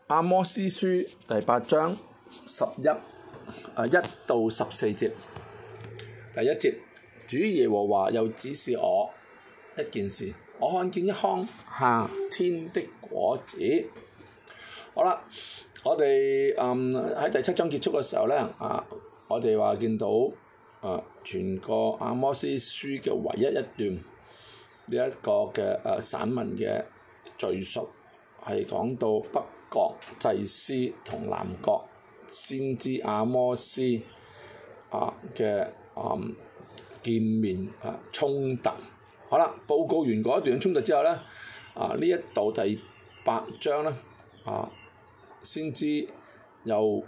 阿摩司書第8章1到14節。第1節，主耶和華又指示我一件事，我看見一筐夏天的果子。好啦，我哋喺第7章結束嘅時候咧，我哋話見到全個阿摩司書嘅唯一一段呢一個嘅散文嘅敘述，係講到北國祭司同南國先知阿摩司嘅見面衝突。好啦，報告完嗰一段衝突之後咧，呢一度第8章咧，先知又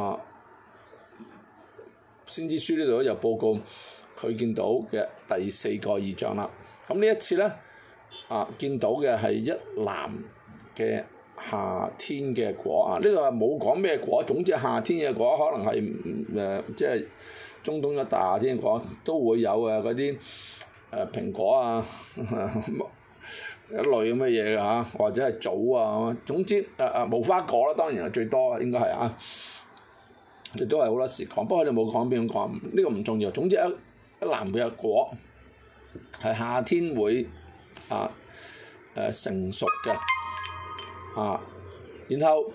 先知書呢度又報告佢見到嘅第4個異象啦。咁呢一次咧，見到嘅係一籃嘅夏天嘅果。呢度係冇講咩果，總之夏天嘅果可能係即係中東一帶夏天嘅果都會有嗰啲蘋果一類咁嘅嘢㗎，或者係棗總之無花果啦，當然係最多應該係亦都係好多時講，不過佢哋冇講邊種講，呢個唔重要。總之一籃嘅果係夏天會成熟嘅然後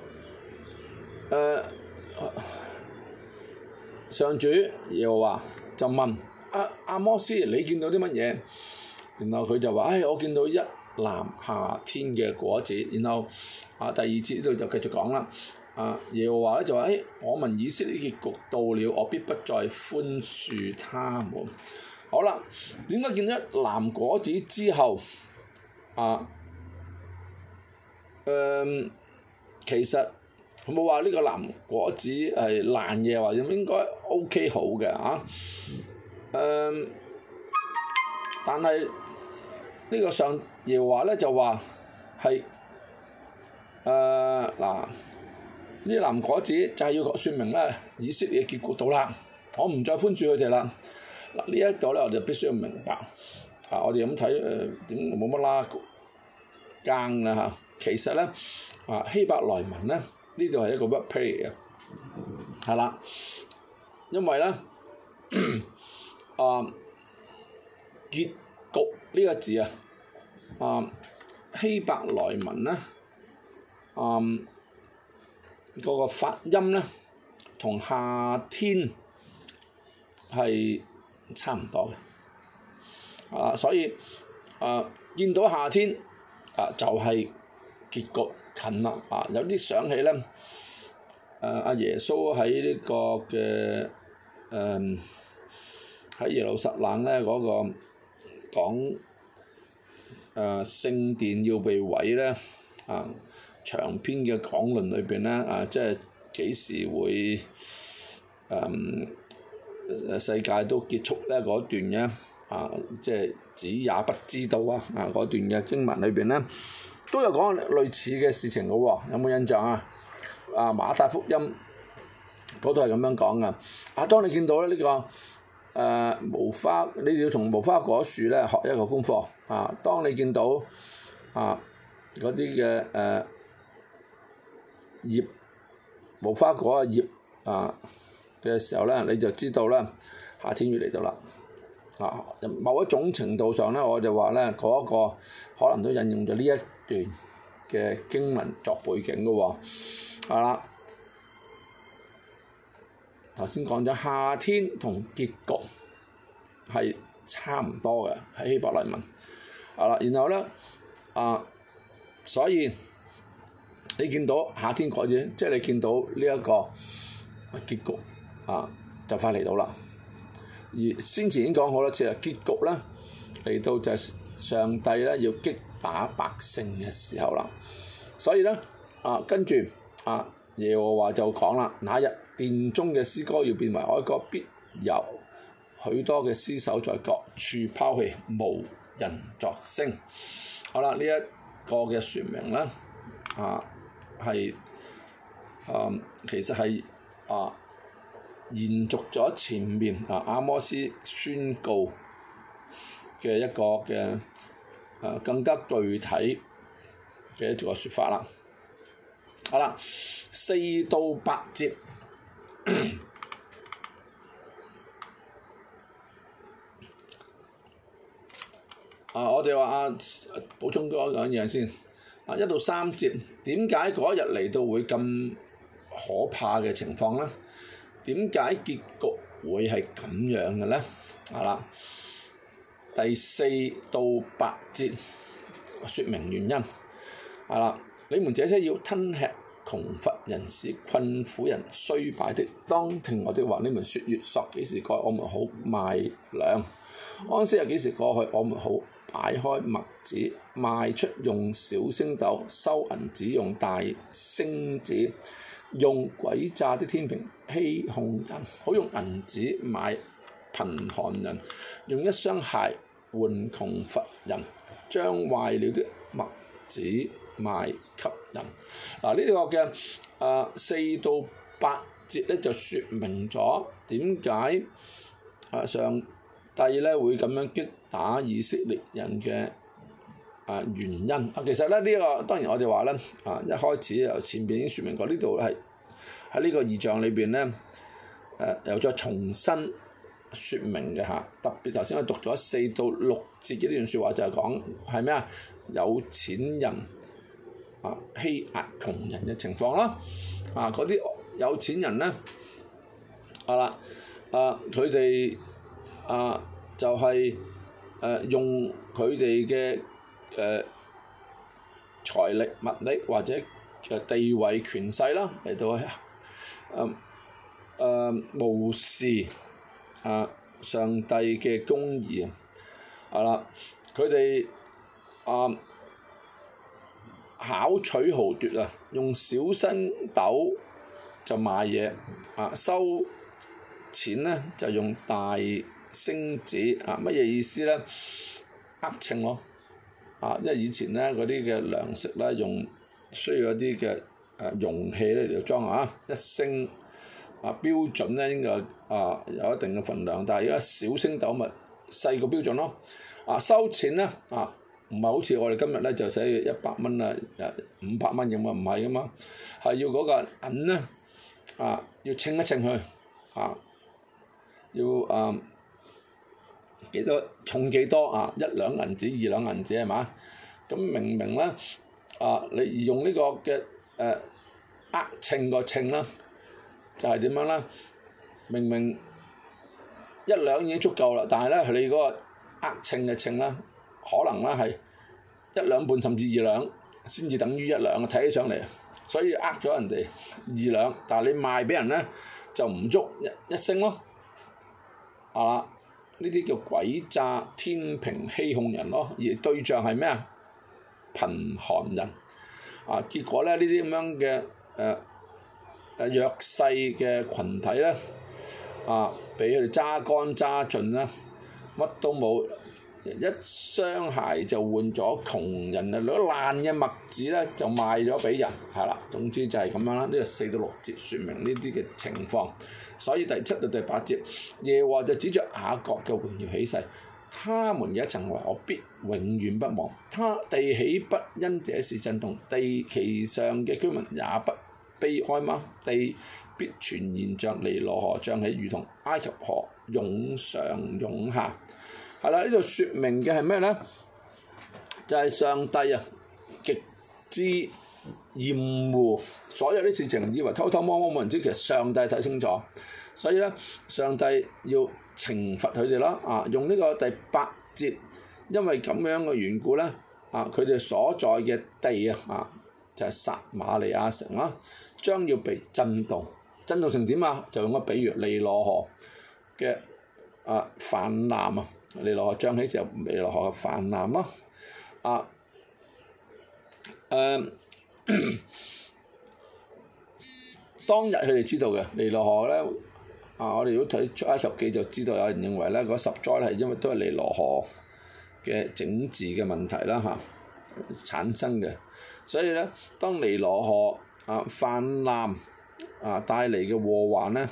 上主耶和華就問阿摩司，你見到啲乜嘢？然後佢就話：我見到一籃夏天嘅果子。然後第2節呢度就繼續講啦。耶和華咧就話：我民以色列結局到了，我必不再寬恕他們。好啦，點解見到一籃果子之後其實佢冇話呢個籃果子係爛嘅，或者應該 OK 好嘅但係呢個上耶和華咧就話係呢籃果子就係要説明咧以色列嘅結局到啦，我唔再寬恕佢哋啦。呢一度咧我哋必須要明白我哋咁睇點冇乜啦更啦其實咧希伯來文咧呢度係一個 word play 嘅，係啦，因為咧結局呢個字希伯來文咧嗰個發音咧同夏天係差唔多嘅，所以見到夏天就係結局近啦，有啲想起咧阿耶穌喺呢個嘅喺耶路撒冷咧嗰個講聖殿要被毀咧長篇嘅講論裏邊咧即係幾時會世界都結束咧嗰段嘅即係子也不知道嗰段嘅經文裏邊咧都有講類似嘅事情嘅喎，有冇印象馬太福音嗰度係咁樣講噶。當你見到咧呢個無花，你要從無花果樹咧學一個功課當你見到嗰啲嘅葉無花果嘅葉嘅時候咧，你就知道咧夏天要嚟到啦。某一種程度上咧，我就話咧嗰個可能都引用咗呢一段嘅經文作背景嘅喎。係啦，頭先講咗夏天同結局係差唔多嘅喺希伯來文。然後咧所以你見到夏天果子，即係你見到呢一個結局就快嚟到啦。而先前已經講好多次啦，結局咧嚟到就係上帝咧要擊打百姓嘅時候啦。所以咧跟住耶和華就講啦，那日殿中嘅詩歌要變為哀歌，必有許多嘅屍首在各處拋棄，無人作聲。好啦，呢一個嘅説明咧係其實係延續咗前面阿摩司宣告嘅一個嘅更加具體嘅一個説法啦。 好啦，4到8節。我哋話補充多兩樣先。1到3節，點解嗰日嚟到會咁可怕嘅情況咧？點解結局會係咁樣嘅咧？第4到8節説明原因。你們這些要吞吃窮乏人士、困苦人、衰敗的，當聽我的話。你們説月朔幾時過，我們好賣糧；安息日幾時過去，我們好擺開麥子，賣出用小升斗，收銀子用大升子，用詭詐的天平欺哄人，好用銀子買貧寒人，用一雙鞋換窮乏人，將壞了的麥子賣給人。呢個嘅4到8節咧就説明咗點解上帝咧會咁樣擊打以色列人嘅原因。其實咧呢個當然我哋話咧一開始由前邊已經説明過，呢度係喺呢個異象裏邊咧又再重新説明嘅嚇。特別頭先我讀咗4到6節嘅呢段説話就係講係咩啊？有錢人欺壓窮人嘅情況啦。嗰啲有錢人咧佢哋就係用佢哋嘅財力、物力或者地位、權勢啦嚟到無視上帝嘅公義。佢哋巧取豪奪用小升斗就賣嘢，收錢咧就用大升子。乜嘢意思咧？秤咯，因為以前咧嗰啲嘅糧食咧需要一啲嘅容器咧嚟到裝一升標準咧應該有一定嘅份量，但係而家小升斗咪細個標準咯。收錢咧唔係好似我哋今日咧就寫100蚊500蚊咁唔係噶嘛，係要嗰個銀咧要稱一稱佢要幾多重幾多1兩銀子2兩銀子係嘛？咁明明咧你用呢個嘅稱個稱啦，就係點樣咧？明明1兩已經足夠啦，但係咧你嗰個稱嘅稱啦，可能咧係1兩半甚至2兩先至等於1兩，睇起上嚟，所以咗人哋2兩，但係你賣俾人咧就唔足一升咯。呢啲叫詭詐天平欺哄人咯，而對象係咩啊？貧寒人。結果咧呢啲咁樣嘅弱勢嘅群體咧俾佢哋揸乾揸盡啦，乜都冇，一雙鞋就換咗窮人攞爛嘅麥子咧就賣咗俾人，係啦。總之就係咁樣啦。呢個4到6節説明呢啲嘅情況。所以第7到第8節，耶和華就指着雅各嘅榮耀起誓，他們嘅一層為我必永遠不忘，地豈不因這事震動，地其上嘅居民也不悲哀嗎？地必全然像尼羅河漲起，如同埃及河湧上湧下。係啦，呢度説明嘅係咩咧？就係上帝極之厭惡所有啲事情，以為偷偷摸摸冇人知，其實上帝睇清楚，所以咧上帝要懲罰佢哋啦。用呢個第8節，因為咁樣嘅緣故咧，佢哋所在嘅地就係撒瑪利亞城啦，將要被震動成點啊？就用個比喻尼羅河嘅泛濫尼羅河漲起就尼羅河嘅泛濫咯。當日佢哋知道嘅尼羅河咧，我哋如果睇出埃及記就知道，有人認為咧嗰10災係因為都係尼羅河嘅整治嘅問題啦產生嘅，所以咧當尼羅河泛濫帶嚟嘅禍患咧，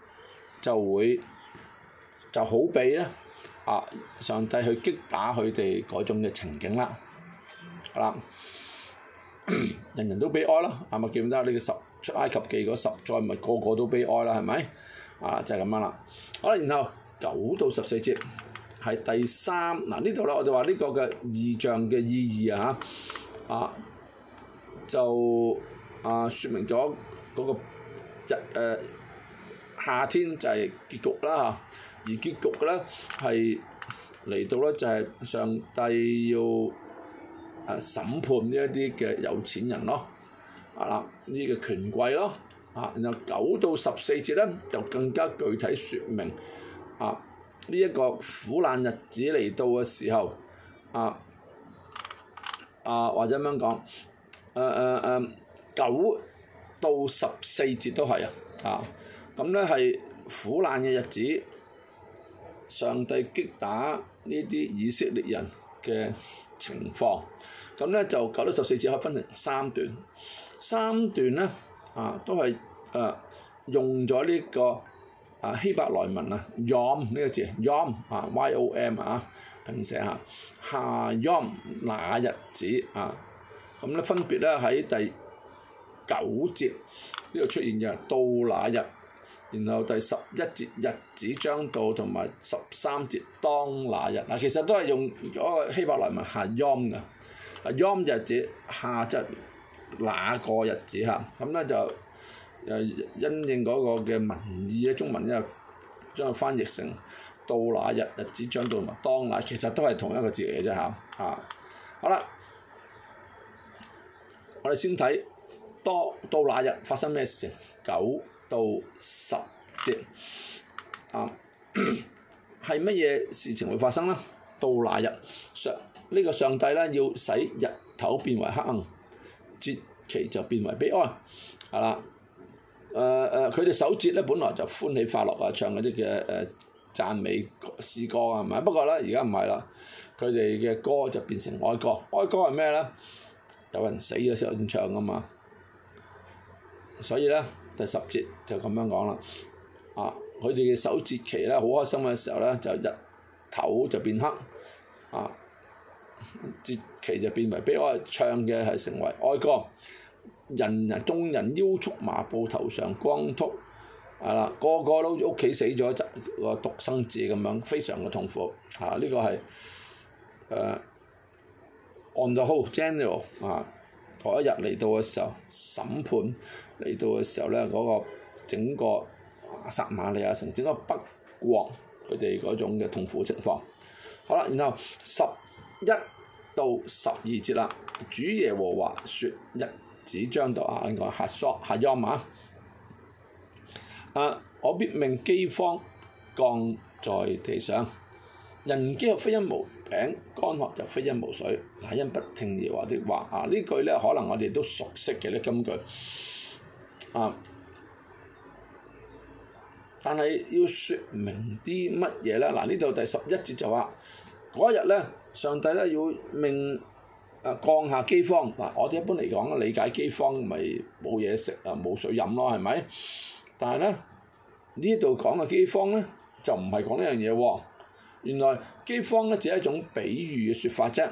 就好比咧上帝去擊打佢哋嗰種嘅情景啦。 人人都悲哀啦，係咪記唔得呢個出埃及記嗰10災咪個個都悲哀啦，係咪？就係咁樣啦。好啦，然後9到14節係第3嗱呢度咧，我哋話呢個嘅異象嘅意義就説明咗嗰個夏天就係結局啦嚇，而結局嘅咧係嚟到咧就係上帝要審判呢一啲嘅有錢人咯，呢個權貴咯，然後9到14節咧就更加具體説明呢一個苦難日子嚟到嘅時候，或者咁樣講，9到14節都係咁咧係苦難嘅日子，上帝擊打呢啲以色列人嘅情況，咁咧就9到14節可以分成3段，3段咧都係用咗呢個希伯來文Yom 呢個字 Yom Y-O-M 拼寫下 Yom 那日子咁咧分別咧喺第9節呢度出現嘅到那日，然後第11節日子將到同埋13節當那日其實都係用咗個希伯來文下 Yom 嘅，Yom 日子下即係那個日子咁咧就因應嗰個嘅文意咧，中文咧將佢翻譯成到那日日子將到同埋當那，其實都係同一個字嚟嘅啫好啦，我哋先睇到那日發生咩事情，9到10節係乜嘢事情會發生呢？到那日呢個上帝咧要使日頭變為黑暗，節期就變為悲哀，佢哋守節咧本來就歡喜快樂唱嗰啲嘅讚美詩歌係咪？不過咧而家唔係啦，佢哋嘅歌就變成哀歌。哀歌係咩咧？有人死嘅時候先唱噶嘛。所以咧第10節就咁樣講啦。佢哋嘅守節期咧好開心嘅時候咧，就日頭就變黑，節期就變為悲哀，唱嘅係成為哀歌。眾人腰束麻布，頭上光禿，個個都屋企死咗個獨生子咁樣，非常嘅痛苦。呢個係on the whole general 嗰一日嚟到嘅時候，審判嚟到嘅時候咧，嗰個整個撒瑪利亞城整個北國佢哋嗰種嘅痛苦情況。好啦，然後11到12節啦，主耶和華說日子將到呢個下 Yom 我必命饑荒降在地上，人飢渴非因無餅，乾渴就非因無水，乃因不聽耶和華的話。呢句咧可能我哋都熟悉嘅呢金句，但係要説明啲乜嘢咧？呢度第11節就話嗰日咧，上帝咧要命降下饑荒。我哋一般嚟講理解饑荒咪冇嘢食冇水飲咯，係咪？但係咧呢度講嘅饑荒咧就唔係講呢樣嘢喎。原來饑荒咧只係一種比喻嘅説法啫。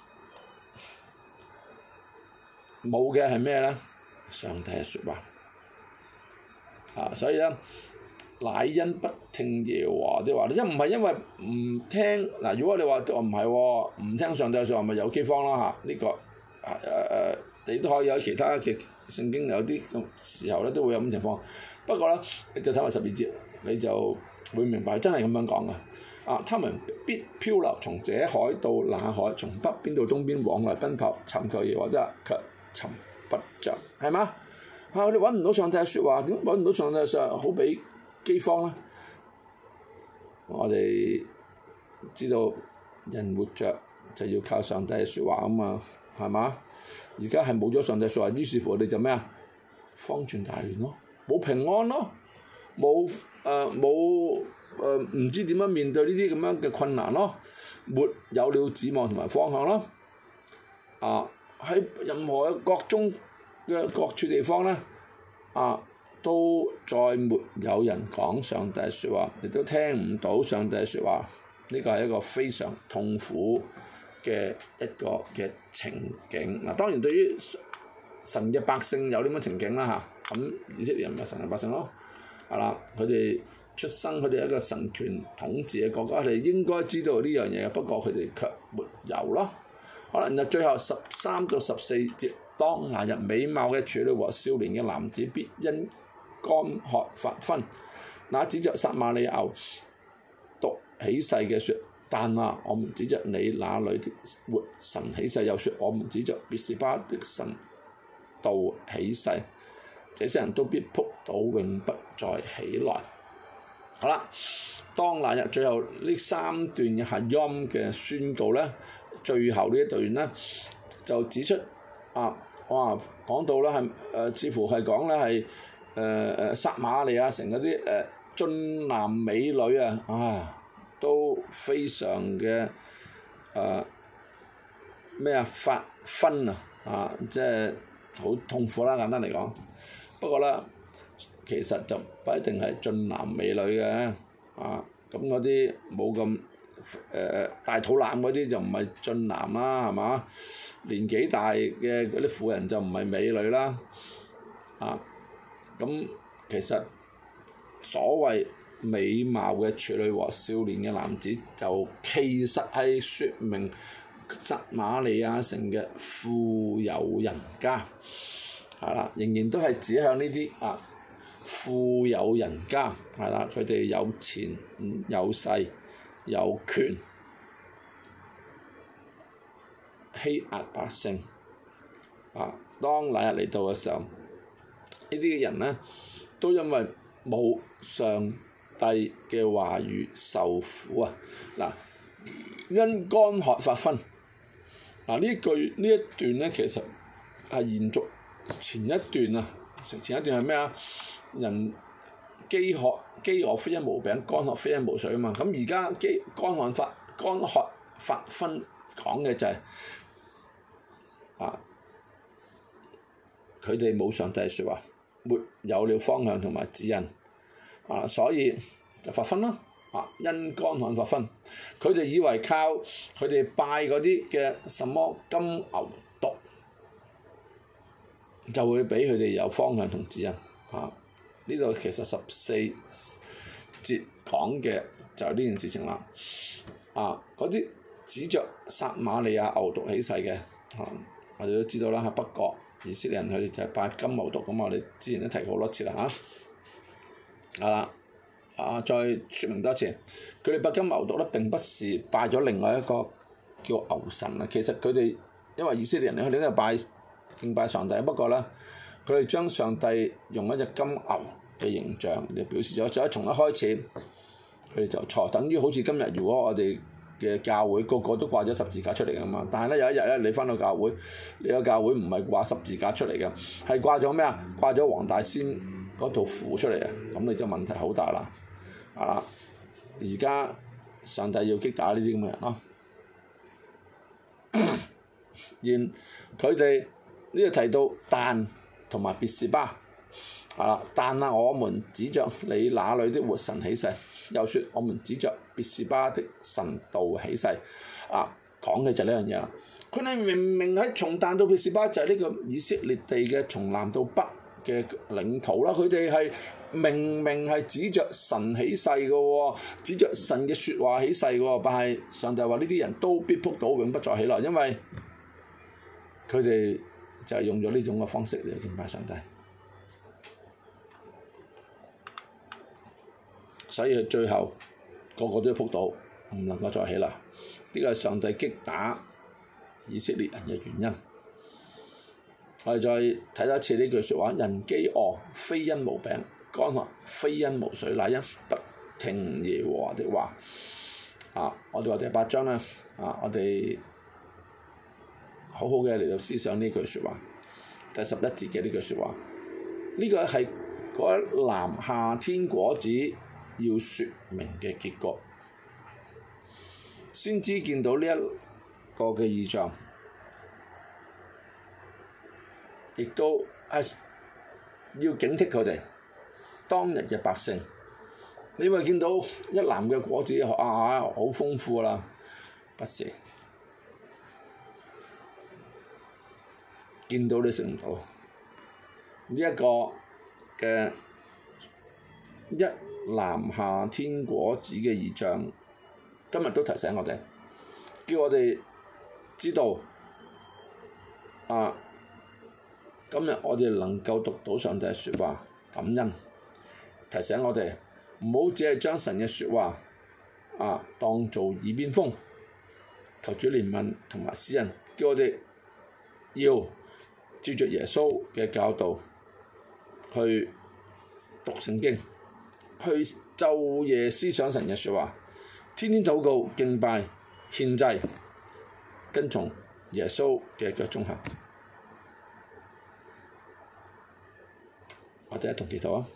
冇嘅係咩咧？上帝嘅説話。所以咧，乃因不聽耶和華的話，唔係因為唔聽如果你話唔係喎，唔聽上帝嘅説話，咪有饑荒啦呢個你都可以有其他嘅聖經有啲時候咧都會有咁情況。不過咧，你就睇埋12節，你就會明白真係咁樣講嘅。他們必漂流，從這海到那海，從北邊到東邊，往來奔跑，尋求耶和華的，卻尋不着，係嘛？我哋揾唔到上帝嘅説話，點揾唔到上帝嘅説話？好比饑荒咧。我哋知道人活着就要靠上帝嘅説話啊嘛，係嘛？而家係冇咗上帝嘅説話，於是乎我哋就咩方寸大亂咯，冇平安咯，冇唔知點樣面對呢啲咁樣嘅困難咯，沒有了指望同埋方向咯。喺任何國中嘅各處地方咧，都再沒有人講上帝嘅説話，亦都聽唔到上帝嘅説話。呢個係一個非常痛苦嘅一個嘅情景。當然對於神嘅百姓有呢種情景啦嚇，咁以色列人咪神嘅百姓咯，係啦，佢哋出生佢哋一個神權統治嘅國家，佢哋應該知道呢樣嘢，不過佢哋卻沒有咯。好啦，然後最後13到14節，當那日美貌嘅處女和少年嘅男子必因乾渴發昏，那指着撒瑪利亞牛犢起誓嘅説，但我們指着你那裏的活神起誓，又説我們指着別是巴的神道起誓，這些人都必仆倒，永不再起來。好啦，當那日最後呢3段嘅哈音嘅宣告咧，最後呢一段咧就指出講到咧係似乎係講咧係撒瑪利亞城嗰啲俊男美女都非常嘅發昏即係好痛苦啦，簡單嚟講。不過咧，其實就不一定係俊男美女嘅，咁嗰啲冇咁大肚腩嗰啲就唔係俊男啦，係嘛？年紀大嘅嗰啲婦人就唔係美女啦，咁其實所謂美貌嘅處女和少年嘅男子，就其實係説明撒瑪利亞城嘅富有人家，係啦，仍然都係指向呢啲富有人家，係啦，佢哋有錢有勢有權，欺壓百姓。當那日嚟到嘅時候，呢啲人咧都因為冇上帝嘅話語受苦因乾渴發昏。呢一段咧其實係延續前一段前一段係咩人飢餓非因無餅，乾渴非因無水啊嘛。咁而家乾渴發昏講嘅就係佢哋冇上帝説話，沒有了方向同埋指引，所以就發昏咯。因乾旱發昏，佢哋以為靠佢哋拜嗰啲嘅什麼金牛犢，就會俾佢哋有方向同指引。呢度其實14節講嘅就係呢件事情啦。嗰啲指着撒瑪利亞牛犢起誓嘅，我哋都知道啦。北國以色列人佢哋就係拜金牛犢，咁我哋之前都提過好多次啦再説明多次，佢哋拜金牛犢咧並不是拜咗另外一個叫牛神其實佢哋因為以色列人佢哋都係敬拜上帝，不過咧佢哋將上帝用一隻金牛嘅形象嚟表示咗，所以從一開始佢哋就錯，等於好似今日如果我哋嘅教會個個都掛咗十字架出嚟㗎嘛，但係咧有一日咧你返到教會，你個教會唔係掛十字架出嚟嘅，係掛咗咩掛咗黃大仙嗰套符出嚟咁你就問題好大啦。而家上帝要擊打呢啲咁嘅人咯。然佢哋呢度提到但同埋別是巴，但我們指着你那裏的活神起誓，又説我們指着別是巴的神道起誓。講嘅就係呢樣嘢啦。佢哋明明喺從但到別是巴就係呢個以色列地嘅從南到北嘅領土啦，佢哋係明明係指着神起誓嘅喎，指着神嘅説話起誓嘅喎，但係上帝話呢啲人都必仆倒，永不再起來，因為佢哋就係用咗呢種嘅方式嚟敬拜上帝，所以佢最後個個都要仆倒，唔能夠再起來。呢個係上帝擊打以色列人嘅原因。我哋再睇多一次呢句説話：人飢餓非因無餅，乾渴非因無水，乃因不聽耶和華的話。我哋話第8章咧，我哋好好嘅嚟到思想呢句説話，第11節嘅呢句説話，呢個係嗰一籃夏天果子要説明嘅結局。先知見到呢一個嘅異象，亦都係要警惕佢哋當日嘅百姓。你咪見到一籃嘅果子好豐富啦，不是？見到你食唔到， 呢一個嘅一籃下天果子嘅異象，今日都提醒我哋，叫我哋知道今日我哋能夠讀到上帝嘅説話，感恩，提醒我哋唔好只係將神嘅説話當做耳邊風，求主憐憫同埋施恩，叫我哋要照着耶穌嘅教導去讀聖經，去晝夜思想神嘅説話，天天禱告敬拜獻祭，跟從耶穌嘅腳蹤行。我哋一同祈禱啊！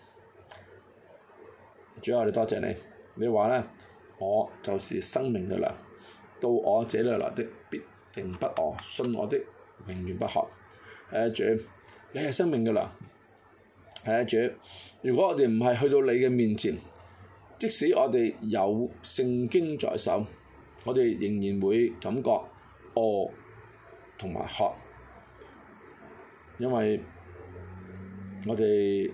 主啊，我哋多謝你，你話咧，我就是生命嘅糧，到我這裏來的必定不餓，信我的永遠不渴。主，你係生命嘅糧。主，如果我哋唔係去到你嘅面前，即使我哋有聖經在手，我哋仍然會感覺餓同埋渴，因為我哋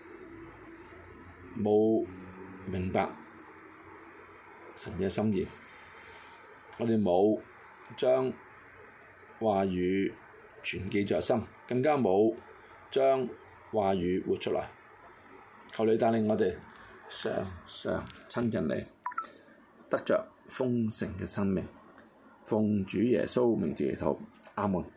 冇明白神嘅心意，我哋冇將話語存記在心，更加冇將話語活出來。求你帶領我哋常常親近你，得着豐盛嘅生命。奉主耶穌名字祈禱，阿門。